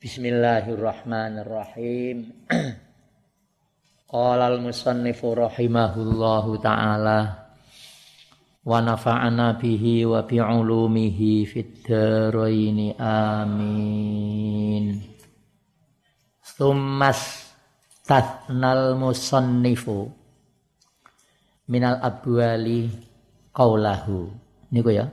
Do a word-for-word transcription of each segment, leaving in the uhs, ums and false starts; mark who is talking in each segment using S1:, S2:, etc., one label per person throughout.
S1: Bismillahirrahmanirrahim. Qala al-musannifu rahimahullahu ta'ala wa nafa'ana bihi wa bi'ulumihi fid dharaini amin. Tsummas tathnal musannifu minal abwali qaulahu. Niku ya.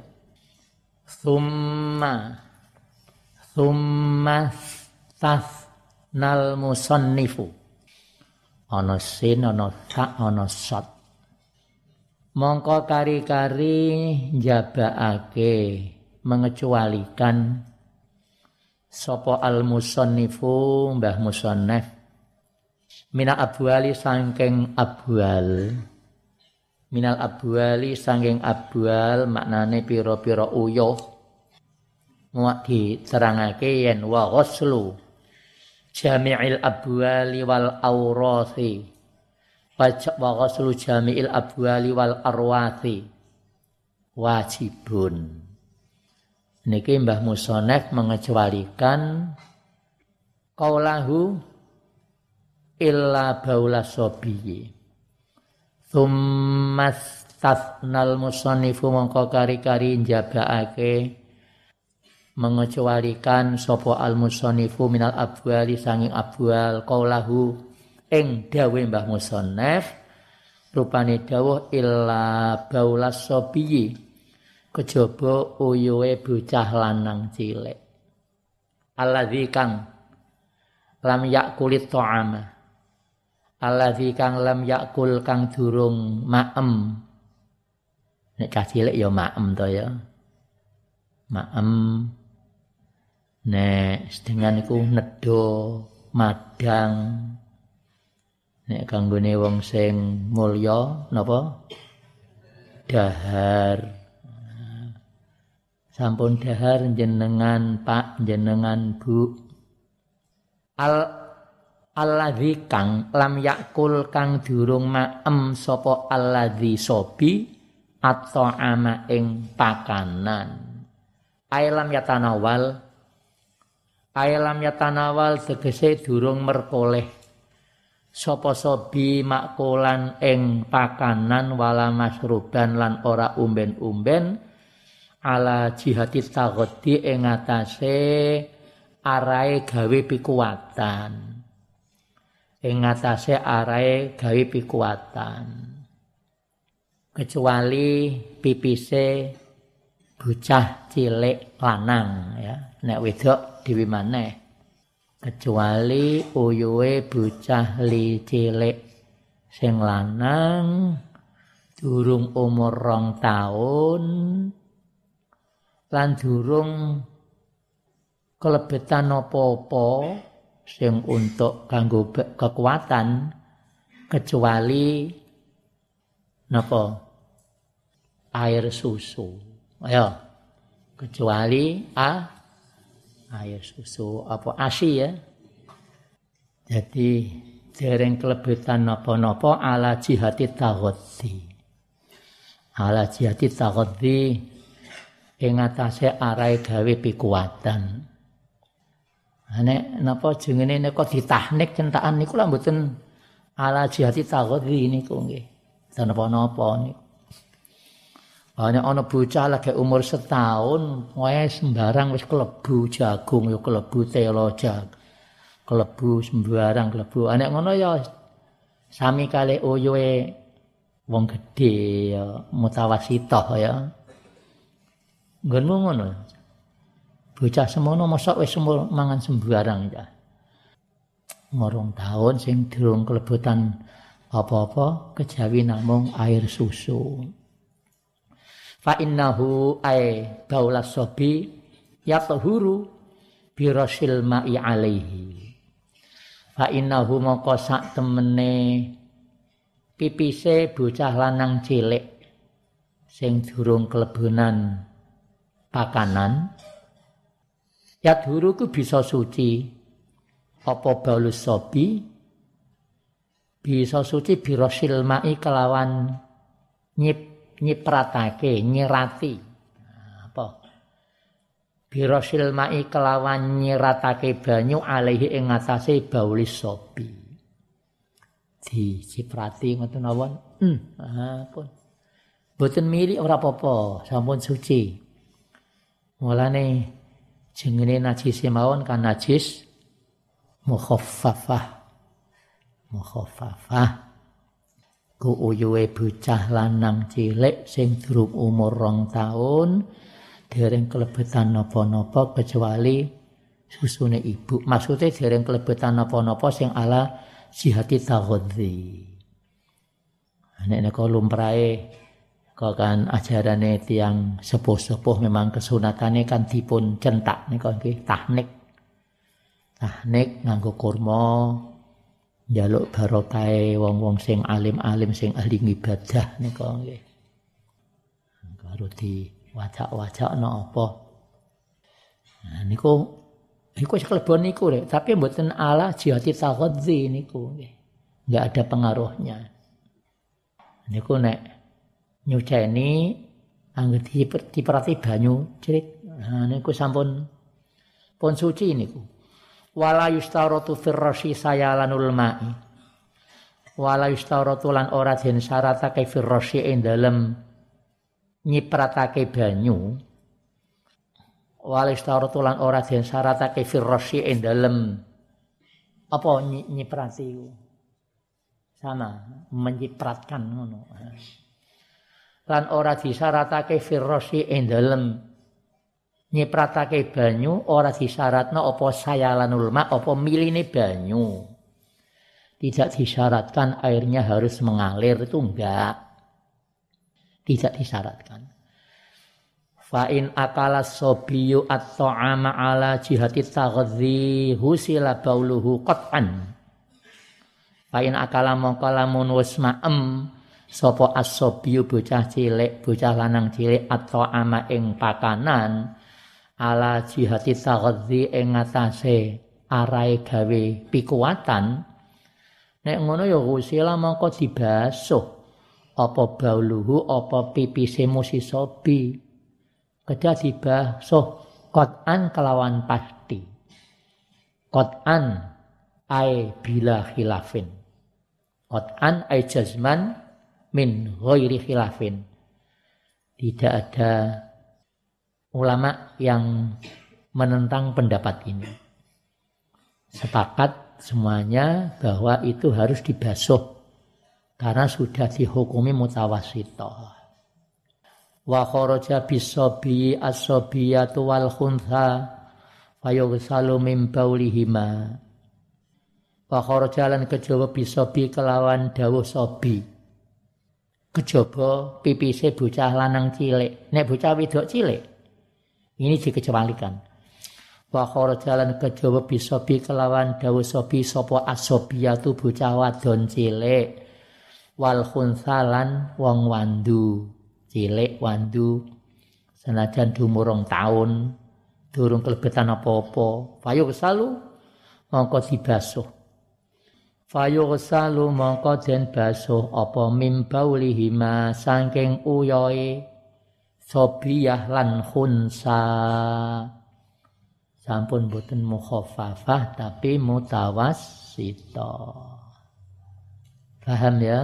S1: Tsumma Tsumma tathnal musannifu. Ana sin, ana ta, ana sat. Mongko kari-kari njabakake mengecualikan sapa al musannifu mbah musannaf minal abwali saking abwal. Minal abwali saking abwal maknane pira-pira uyuh. Muak diterangake yen wa ghuslu jami'il abwali wal awrathi wa ghuslu jami'il abwali wal arwathi wajibun. Niki Mbah Musonef mengecualikan qaulahu illa baula sobiyi. Tsumma tathnal musannifu mongko kari-kari njabakake mengecualikan sapa al-musannifu minal abwali sanging abwal qaulahu ing dawuh Mbah Musannaf rupane dawuh illa baulas sobiyi kejaba uyuhe bocah lanang cilik alladzi kang lam yakulit ta'ama alladzi kang lam yakul kang durung maem nek cah cilik ya maem to ya maem. Nek sedhengan iku nedha madang. Nek kanggone wong sing mulya napa? Dahar. Sampun dahar jenengan Pak, jenengan Bu. Al alladzi kang lam yakul kang durung maem sapa alladzi sobi at-ta'ama ing pakanan. Ailam yatanawal Ailam yatanawal tegese durung merkoleh sapa sobi makulan ing pakanan wala masruban lan ora umben-umben ala jihati taghdi ing atase arahe gawe pikuwatan ing atase arahe gawe pikuwatan kecuali pipise bocah cilik lanang ya nek wedok dhewe maneh kecuali uyuhe bocah li cilik sing lanang durung umur rong taun lan durung kelebetan apa-apa sing untuk kanggo kekuatan kecuali napa air susu ayo kecuali a air susu apa asi ya. Jadi dereng kelebitan napa-napa ala jihati taghaddi. Ala jihati taghaddi ing atase arahe gawe pikuwatan. Nek napa jenenge nek ditahnik centakan niku lak mboten ala jihati taghaddi niku nggih. Dan napa-napa niku. Hanya ana bocah lagi umur setahun, wis sembarang wis klebu jagung ya klebu telo jag. Klebu sembarang klebu. Anek ngono ya sami kali uyuhe wong gedhe ya mutawasithah ya. Nggonmu ngono. Bocah semono mosok wis mangan sembarang ya. Ngorong tahun sing durung kelebutan apa-apa kejawi namung air susu. Fa innahu ay baulas sobi yatahuru birasil ma'i alaihi. Fa innahu moko sak temene pipise bocah lanang cilik sing durung kelebunan pakanan yatahuru ku bisa suci apa baulus sobi bisa suci birasil ma'i kelawan nyip nyipratake nyirati apa Birasil ma'i kelawan nyiratake banyu alaihi ing ngatasé baulis sobi. Diciprati ngoten mawon. Hmm, ampun. Boten mili ora apa-apa, sampun suci. Mulane jenenge najis mawon kan najis mukhaffafah. Mukhaffafah. Ku uyuhe bocah lanang cilik sing durung umur rong taun dereng kelebetan napa-napa kecuali susune ibu. Maksudnya dereng kelebetan napa-napa sing ala jihati taghadzi. Nek nek lumrahe kok kan ajarane tiyang sepuh-sepuh memang kesunatane kan dipun centak nika nggih tahnik. Tahnik nganggo kurma njaluk barokah wong-wong sing alim-alim sing ahli ibadah nika nggih. Karo di wajak-wajakno apa. Nah niku niku kelebon niku rek, tapi mboten ala jihati taghadzi niku nggih. Enggak ada pengaruhnya. Niku nek nyuceni anggere diperati banyu cilik. Nah niku sampun pun suci niku. Wala yustaratu firrashi sayalanul ma'i. Wala yustaratu lan ora den syaratake firrashi ing dalem nyipratake banyu. Walis tarutulan ora den syaratake firrashi ing dalem apa nyiprati sama menyipratkan ngono. Lan ora disyaratake firrashi ing dalem nyipratake banyu ora disyaratno apa sayalanul ma apa miline banyu. Tidak disyaratkan airnya harus mengalir, itu enggak. Tidak disyaratkan. Fa in akala sobiyu at-ta'ama ala jihati taghadzi husila bauluhu qat'an. Fa in akala mongko lamun wis maem sapa as-sobiyu bocah cilik, bocah lanang cilik at-ta'ama ing pakanan ala jihati taghadzi ing ngatasé arahe gawe pikuwatan. Nek ngono ya husila mongko dibasuh apa bauluhu apa pipise musisobi kedah dibasuh qat'an kelawan pasti qat'an ai bila khilafin qat'an ai jazman min ghairi khilafin. Tidak ada ulama yang menentang pendapat ini, sepakat semuanya bahwa itu harus dibasuh karena sudah dihukumi mutawassithah. Wa kharaja bisabi as-sabiyatu wal khuntha fayughsalu min baulihima. Wa kharaja lan kejaba bisabi kelawan dawuh sabi. Kejaba pipise bocah lanang cilik. Nek bocah wedok cilik ini dikecualikan. Wa kharaja lan kejaba bisabi kelawan dawuh sabi sapa as-sabiyatu bocah wadon cilik. Wal khunsalan wong wandu cilik wandu senajan dumurung taun durung kelebetan apa-apa fayughsalu mongko dibasuh fayughsalu mongko den basuh apa mim baulihima saking uyoe sobiyah lan khunsa. Sampun boten mukhaffafah tapi mutawassithah. Paham ya?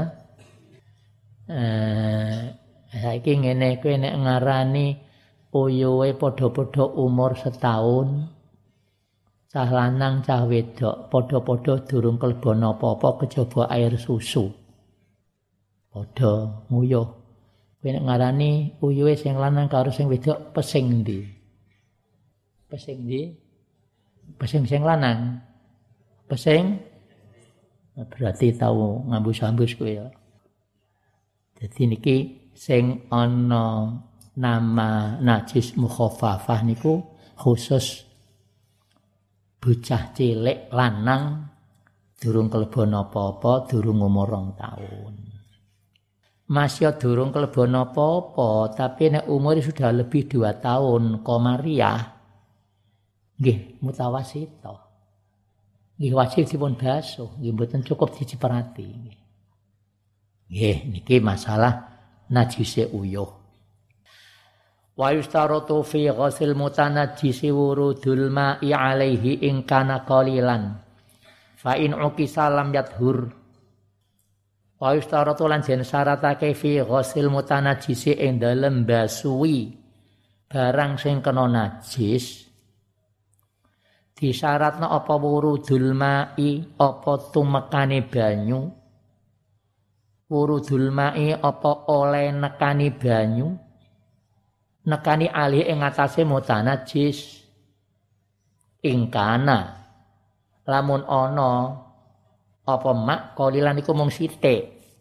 S1: Eh, saiki ngene kowe nek ngarani uyuhe padha-padha umur setahun, cah lanang cah wedok padha-padha durung kelebon apa-apa kejaba air susu. Padha nguyuh. Kowe nek ngarani uyuhe sing lanang karo sing wedok pesing ndi? Pesing ndi? Pesing sing lanang. Pesing berarti tahu ngambus-ambus kowe ya. Jadi niki sing ana nama najis mukhaffafah niku khusus bocah cilik lanang durung kelebon apa-apa, durung umur rong taun. Masih durung kelebon apa-apa, tapi nek umur sudah lebih dua tahun, komariah nggih mutawassithah. Nggih wajib dipun basuh, nggih mboten cukup diciprati nggih. Nggih niki masalah najise uyuh. Wa yustaratu fi ghusil mutanajjisi wurudul ma'i alaihi in kana qalilan fa in uqisa lam yadhur. Wa yustaratu lan jen syaratake fi ghusil mutanajjisi ing dalem basuwi barang sing kena najis disyaratna apa wurudul ma'i apa tumekane banyu, wurudul ma'i apa oleh nekani banyu, nekani alih ing atase mutanajis ingkana lamun ana apa mak kolilan iku mung sithik.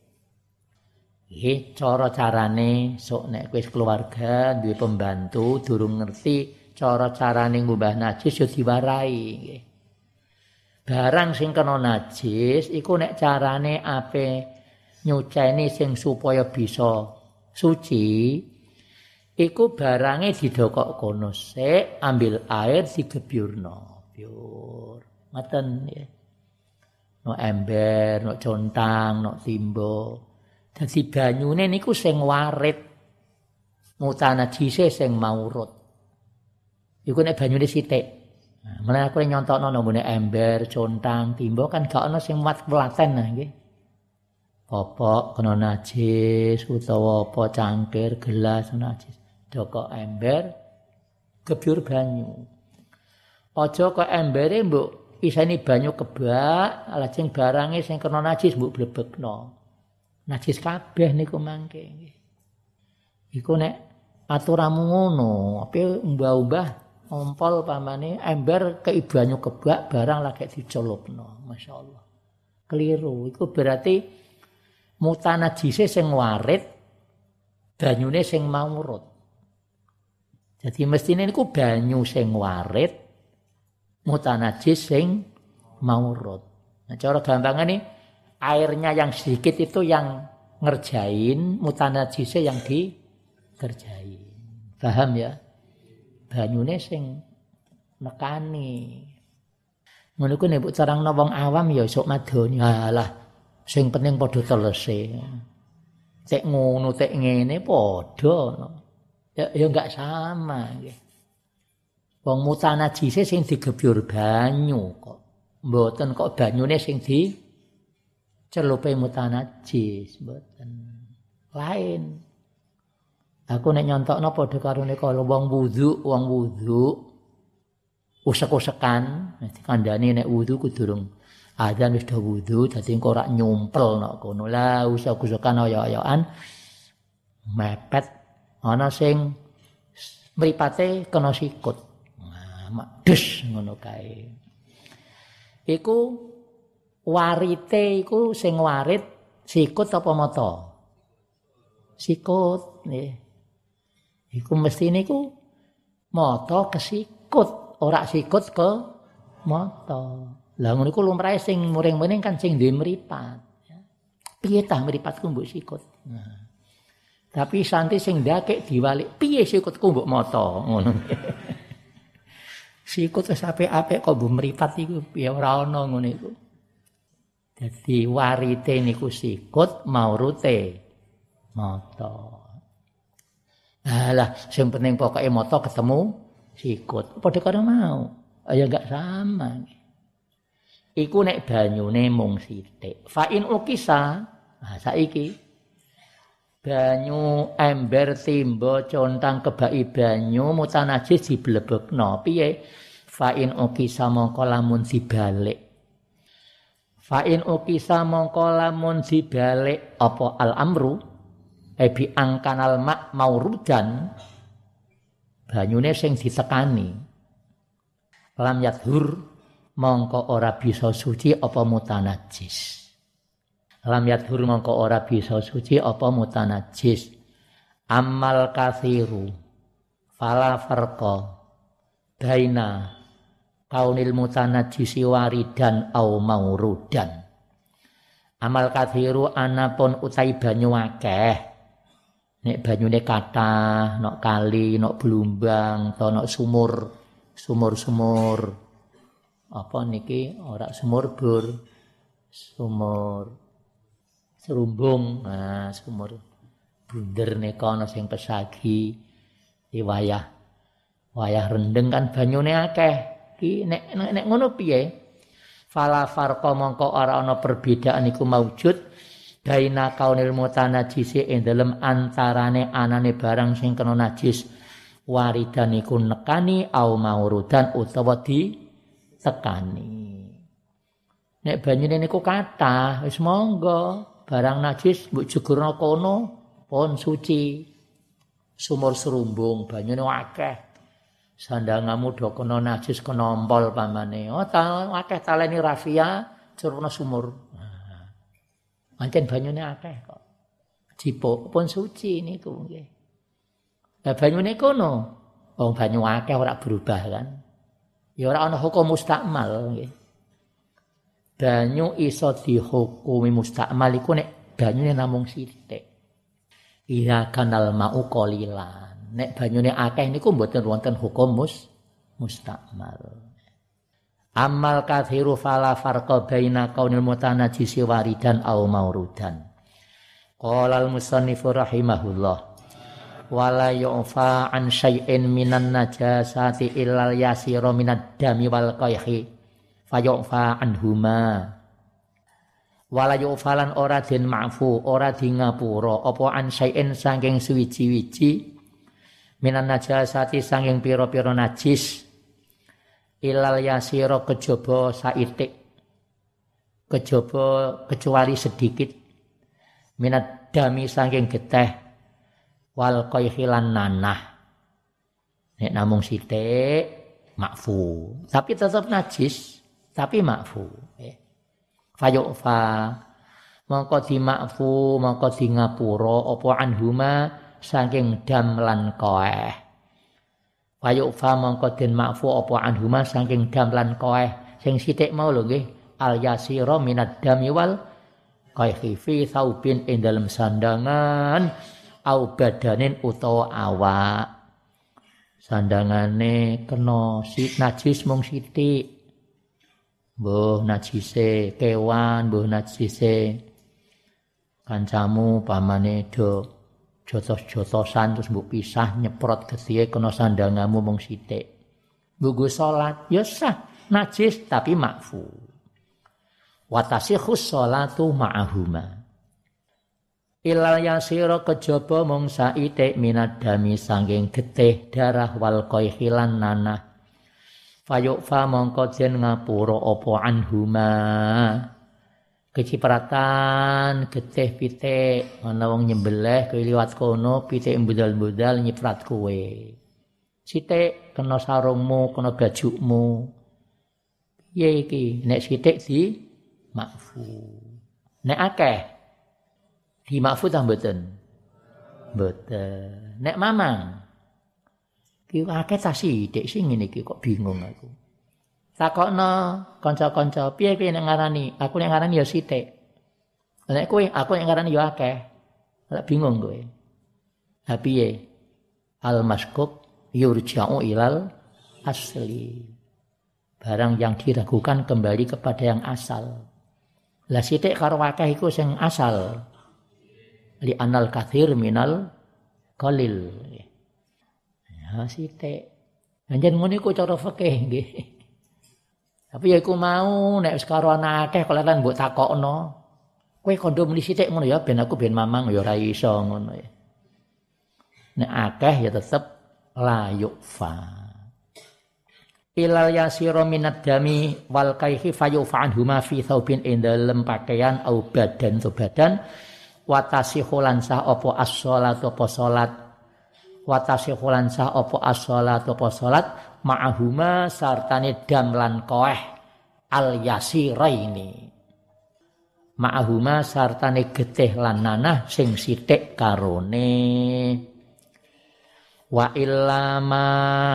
S1: Iki cara carane sok nek wis keluarga duwe pembantu durung ngerti cara carane ngubah najis yo diwarai nggih. Barang sing kena najis iku nek carane ape nyuceni sing supaya bisa suci iku barange didokok kono sik, ambil air digebyurno. Biur. Ngoten nggih. No ember, no contang, no timbo. Dadi banyune niku sing warit. Mutanajise sing maurut. Iku nek banyune sithik. Nah, mulane aku nyontokno nomone ember, contang, timbo kan gak ana sing muat welaten nah nggih. Popok kena najis utawa apa cangkir, gelas najis. Doko ember gebyur banyu. Aja kok embere mbok iseni banyu kebak, lajeng barange sing kena najis mbok blebekno. Najis kabeh niku mangke nggih. Iku nek aturanmu ngono, ape mbah-mbah ompol pamane ember kei banyu kebak barang lagi dicelupno. Masyaallah. Keliru. Iku berarti mutanajise sing warit, banyune sing maurut. Jadi mestine niku banyu sing warit, mutanajis sing maurut. Nah, cara gampangane airnya yang sedikit itu yang ngerjain, mutanajise yang dikerjain. Paham ya? Banyune sing nekani. Ngono ku nek mbok carangno wong awam ya sok madoni. Halah, sing penting padha telese. Tek ngono tek ngene padha no. Ya ya enggak sama nggih. Wong mutanajise sing digebyur banyu kok. Mboten kok banyune sing di celupe mutanajis, mboten. Lain. Aku nek nyontokno padha karo nek wong wudu, wong wudu usek-usekan, dikandani nek wudu ku durung adzan wis do wudu, dadi engko ora nyumpel nok kono. Lah usek-usekan ayo-ayoan mepet ana sing mripate kena sikut. Nah, mak des ngono kae. Iku warite iku sing warit sikut apa mata? Sikut nggih. Iku mestine iku mata kesikut, ora sikut ke mata. Lah ngono iku lumrahe sing muring-muring kan sing duwe mripat. Piye tah mripatku mbok sikut? Nah. Tapi santi sing ndakek diwalik, piye sikutku mbok mata ngono. Sikut wis apik-apik kok mbok mripat iku piye ora ana ngono iku. Dadi warite niku sikut, maurute mata. Alah, sing penting pokoke mata ketemu sikut. Padha karo mau. Ya enggak sama. Iku nek banyune mung sithik. Fa in ukisa, nah saiki banyu ember timba contang kebaki banyu mutanajis diblebekno piye fa in ukisa mongko lamun dibalik fa in ukisa mongko lamun dibalik apa al amru ebi angkanal mak maurudan banyune sing ditekani lam yadhur mongko ora bisa suci apa mutanajis. Lam yadhur mongko ora bisa suci apa mutanajis. Amal kathiru fala farqa baina kaunil mutanajisi waridan au maurudan. Amal kathiru anapun utai banyu akeh. Nek banyune kathah, nok kali, nok blumbang, to nok sumur, sumur-sumur. Apa niki ora sumur bur, sumur serumbung, nah sumur bunder nika ana sing pesagi, Iki wayah wayah rendeng kan banyune akeh. Ki nek nek, nek ngono piye? Fala farqa mongko ora ana perbedaan iku maujud baina kaunil mutanajisi ing dalem antarane anane barang sing kena najis waridan iku nekani au maurudan utawa di tekani. Nek banyune niku kathah wis monggo barang najis mbok jegurna kono pun suci. Sumur serumbung banyune akeh. Sandangamu do kena najis kena ompol pamane. Oh ta akeh taleni rafia curuna sumur. Nah, pancen banyune akeh kok. Jipuk pun suci niku nggih. Lah banyune kono wong banyu akeh ora berubah kan. Ya ora ana hukum mustakmal nggih. Banyu iso dihukumi mustakmal iku nek banyune namung sithik. Iya kanal mau qalilan. Nek banyune akeh niku mboten wonten hukum mus mustakmal. Amal kathiru fala farqa baina kaunil mutanajjisi waridan au maurudan. Qala al-musannifu rahimahullah wala yu'fa an syai'in minan najasati illal yasira minad dami wal qayhi fayu'fa anhuma. Wala yu'falan ora den ma'fu ora di ngapura apa an syai'in saking suwiji-wiji minan najasati saking pira-pira najis ilal yasira kejaba saitik kejaba kecuali sedikit minad dami saking geteh wal qayhilan nanah nek namung sithik makfu tapi tetap najis tapi makfu eh. Fayu'fa mongko di makfu mongko di ngapura apa anhuma saking dam lan koeh. Fayu'fa mongko den makfu apa anhuma saking dam lan koeh sing sithik mau lho nggih al yasira minad dami wal qayhi fi saubin ing dalem sandangan au badanin utawa awak. Sandangane kena si najis mung sithik. Mbuh najise kewan, mbuh najise kancamu pamane do jotos-jotosan terus mbok pisah nyeprot getihe kena sandangamu mung sithik. Nggo salat ya sah, najis tapi makfu. Wa tasihhus sholatu ma'ahuma. Ilal yasira kejaba mung saitik minad dami saking getih darah wal qayhilan nanah. Fayu'fa mongko den ngapura apa anhuma. Kecipratan getih pitik ana wong nyembelih kowe liwat kono pitik mbudal-mbudal nyiprat kowe. Sithik kena sarungmu, kena bajumu. Piye iki? Nek sithik di makfu. Nek akeh di makfu ta mboten? Mboten. Nek mamang ki akeh ta sithik sing ngene iki kok bingung aku. Takokno kanca-kanca, piye piye nek ngarani? Aku nek ngarani ya sithik. Nek kowe aku nek ngarani ya akeh. Ora bingung kowe. Ha piye? Al maskuk yurja'u ilal asli. Barang yang diragukan kembali kepada yang asal. Lah sithik karo akeh iku sing asal. Li anal katsir minal qalil. Ya sithik. Anjen ngono iku cara fikih nggih. Tapi ya iku mau nek wis karo ana akeh kok lan mbok takokno. Kowe kondo muni sithik ngono ya ben aku ben mamang ya ora iso ngono ya. Nek akeh ya tetep la yufa. Ilal yasira minad dami wal kaihi fayufa anhuma fi thawbin ing dalem pakaian au badan to badan wa tasihhulan sah apa as-shalatu apa salat wa tasihhulan sah apa as-shalatu apa salat ma'ahuma sartane dam lan koeh al yasiraini ma'ahuma sartane getih lan nanah sing sithik karone wa illama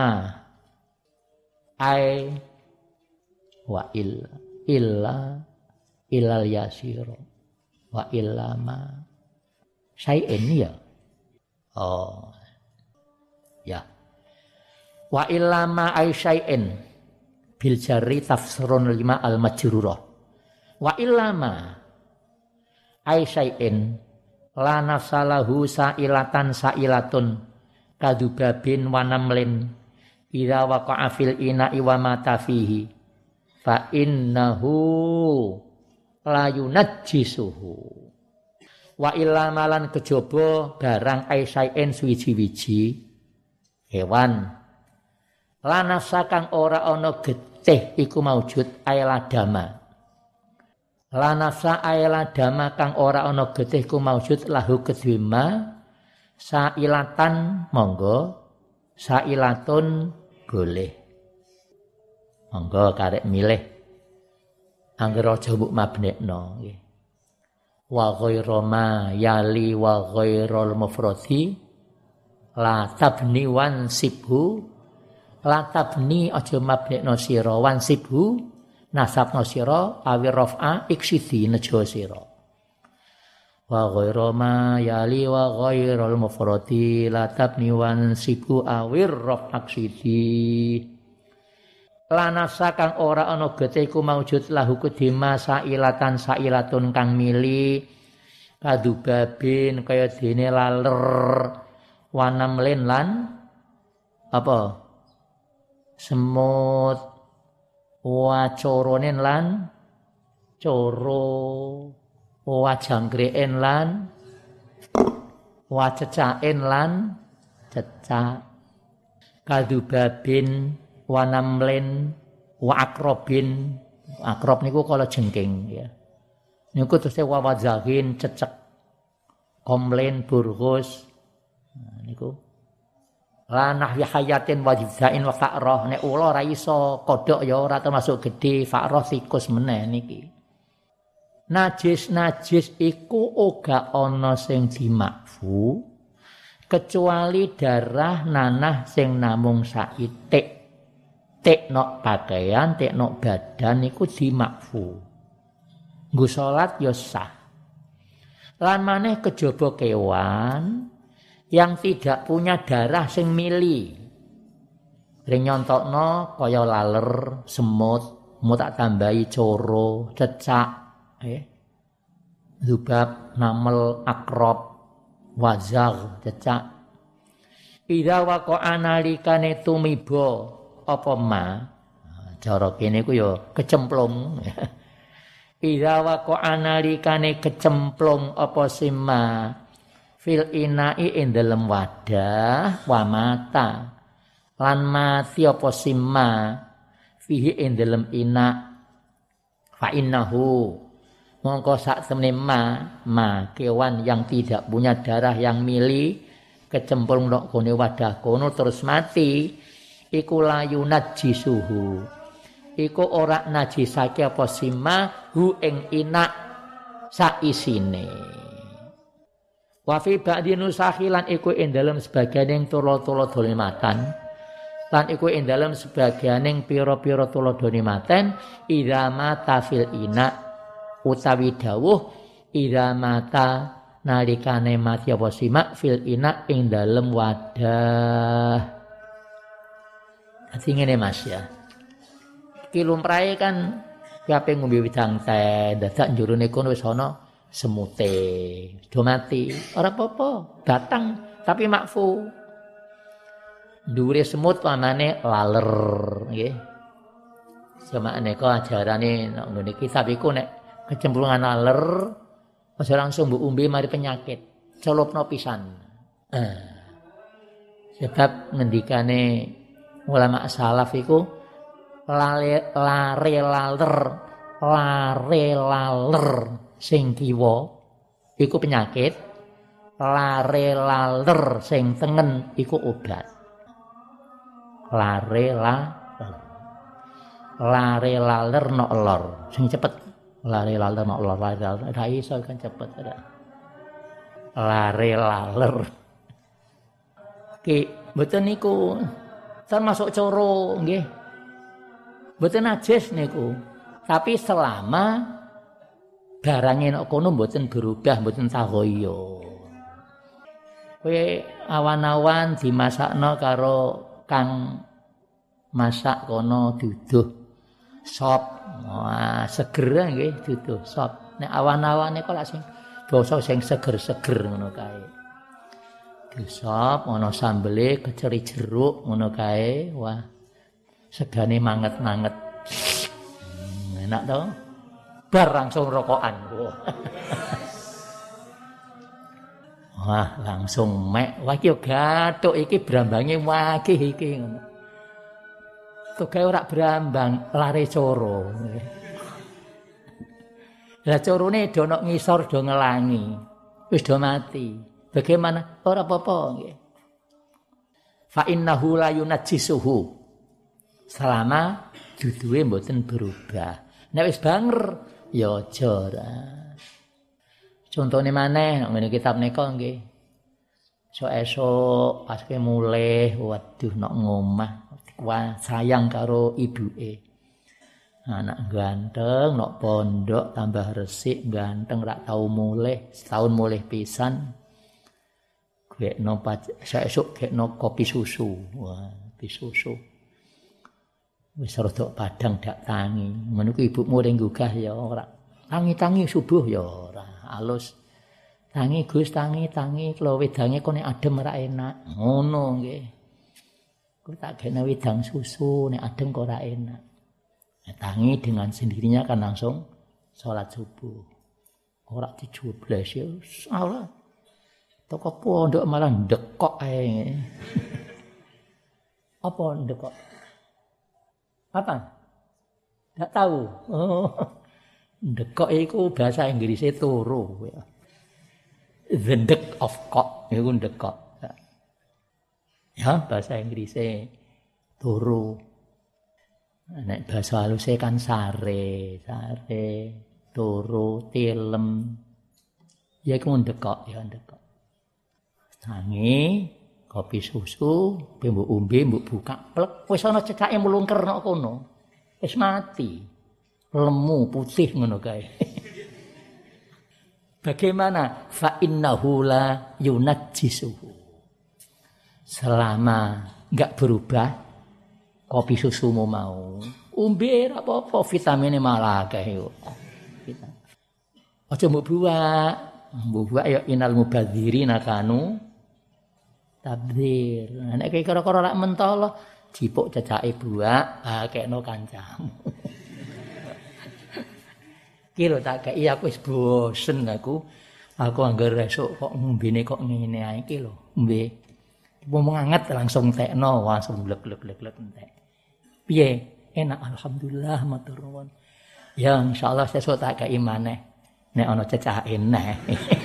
S1: ai wa illa illa ilal yasira wa illama syai'in ya oh ya wa illama ai syai'in bil jarri tafsirun lima al majrurah wa illama ai syai'in la nafsalahu sailatan sailatun kadubabin wa namlin ira waqa'a fil ina'i wa mata fihi fa innahu la yunajjisuhu wa illa malan kejaba barang aisain suwiji-wiji hewan lanasa kang ora ana getih iku maujud ailadama lanasa ailadama kang ora ana getih iku maujud lahu kedwema sailatan monggo sailatun boleh monggo karek milih angger aja mbok mabnekno nggih wa ghairu ma yali wa ghairul mufradi la tabni wan sibhu la tabni aja mabnekno sira wan sibhu nasabna sira awi rafa iksidi nejo sira wa ghairu ma yali wa ghairul mufradi la tabni wan sibhu awir rafa iksidi lanasa kang ora ana getih iku maujud lahu kedima sailatan sailatun kang mili kadubabin kaya dene laler wanamlen lan apa semut wacoronen lan coro wajangkreken lan wacecaken lan cecak kadubabin wanamlen wa akrobin akrob niku kala jengking ya niku terus wawadzahin cecek komlen burghus nah, niku lanah hayatin wajibzain wa fa'rah nek ula ora iso kodhok ya ora termasuk gedhe fa'rah tikus meneh niki najis-najis iku uga ana sing dimakfu kecuali darah nanah sing namung saitik tekno pakaian, tekno badan iku dimakfu. Nggo salat ya sah. Lan maneh kejaba kewan yang tidak punya darah sing mili. Ring nyontokno kaya laler, semut, mau tak tambahi coro, cecak, eh. Zubab, namel, akrob, wazag, cecak. Ida waqa'a nalikane tumiba apa ma cara kene ku ya kecemplung ira waqa'a nalikane kecemplung apa sima fil ina'i ing dalem wadah wa mata lan mati apa sima fihi ing dalem ina fa innahu mongko sak temene ma ma kewan yang tidak punya darah yang mili kecemplung nok gone wadah kono terus mati iku layu najisuhu iku ora najisake apa sima hu ing inak saisine wa fi ba'di nusakhilan iku ing dalem sebagianing tulo-tulo dolimatan lan iku ing dalem sebagianing pira-pira tulo dolimatan idza mata fil ina utawi dawuh idza mata nalikane mati apa sima fil ina ing dalem wadah. Dadi ngene Mas ya. Iki lumrahe kan kape ngombe widang teh, dadak njurone kono wis ana semute. Do mati, ora apa-apa, batang tapi makfu. Dhuwure semut pamane laler, nggih. Semakne kok ajarane nek ngene iki kitab iku nek kecemplungan laler aja langsung mbok umbe mari penyakit. Celupno pisan. Eh. Sebab ngendikane ulama salaf iku lare lare laler lare laler sing kiwa iku penyakit lare laler sing tengen iku obat lare laler lare laler nok lor sing cepet lare laler nok lor lare laler ra iso kan cepet ada lare laler ki mboten niku termasuk coro nggih. Mboten najis niku. Tapi selama barangnya nek kono mboten berubah, mboten tahoyo. Kowe awan-awan dimasakno karo kang masak kono duduh sop. Wah, seger nggih duduh sop. Nek awan-awan niku lak sing basa sing seger-seger ngono kae. Disop ana sambele keceri jeruk ngono kae. Wah. Segane manget-manget. Hmm, enak to? Bar langsung rokokan. Wah, langsung mek. Wah iki yo gathuk iki brambange wakih iki ngono. Togae ora brambang, lare coro. Lah corone do nok ngisor do ngelangi. Wis do mati. Bagaimana? Ora apa-apa nggih. Fa innahu la yunajjisuhu. Selama duduhe mboten berubah. Nek wis banger ya aja ora. Contone maneh ngene kitab nika nggih. Esuk-esuk pas ke mulih, waduh nok ngomah, wah sayang karo ibuke. Anak ganteng, nok pondok tambah resik, ganteng rak tau mulih, setahun mulih pisan. Gekno esuk gekno kopi susu. Wah, kopi susu. Wis rada padang dak tangi. Ngono ku ibumu ring gugah ya ora. Tangi-tangi subuh ya ora. Alus tangi Gus tangi tangi klo wedange kok nek adem ora enak. Ngono nggih. Ku tak gekno wedang susu nek adem kok ora enak. Nah, tangi dengan sendirinya kan langsung sholat subuh. Ora dijubles ya salah. Toko pondok malah ndekok ae. Apa ndekok? Apa? Enggak tahu. Oh. Ndekok iku bahasa Inggrisnya turu ya. The deck of cock iku ndekok. Ya, bahasa Inggrisnya turu. Nek bahasa halusnya kan sare, sare, turu, tilem. Ya iku ndekok, ya ndekok. Tangi, kopi susu, mbok umbe, mbok buka, plek wis ana cekake mlungker nok kono. Wis mati. Lemu putih ngono kae. Bagaimana? Fa innahu la yunajjisuhu. Selama enggak berubah kopi susumu mau, umbe ora apa-apa, vitaminnya malah akeh yo. Aja mbok buak. Mbok buak ya inal mubadzirina kanu tabdzir. Nek kira-kira lak mentolo jipuk cecake buak, ah kekno kancamu. Ki lho tak kei aku wis bosen aku. Aku anggar esuk kok ngombene kok ngene ae iki lho. Mbe. Wong anget langsung tekno, langsung glek-glek-glek entek. Piye? Enak alhamdulillah matur nuwun. Ya insyaallah sesuk tak kei maneh. Nek ana cecake neh.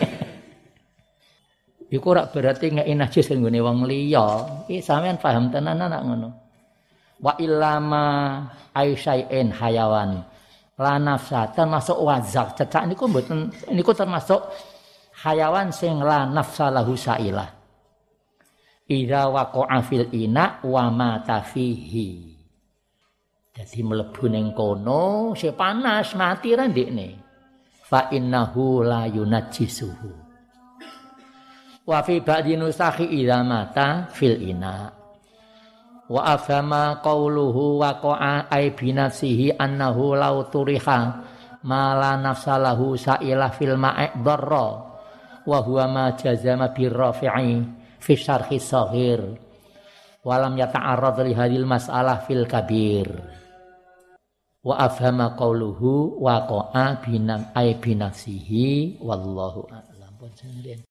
S1: Iku ora berarti ngeki najis nggone wong liya. Iki sampean paham tenan anak ngono. Wa illama aisyai'in hayawan la nafsa termasuk wazak cecak niku mboten niku termasuk hayawan sing la nafsa lahu sailah. Idza waqa'a fil ina wa mata fihi. Dadi mlebu ning kono se panas mati ra ndekne. Fa innahu la yunajjisuhu. Wa fi ba'di nusakhi idza mata fil ina. Wa afhama qauluhu waqa'a ay binafsihi annahu law turiha ma la nafsa lahu sa'ilah fil ma'i dharra wa huwa ma jazama birrafi'i fi syarhi shaghir wa lam yata'arrad li hadhil mas'alah fil kabir. Wa afhama qauluhu waqa'a binam ay binafsihi wallahu a'lam.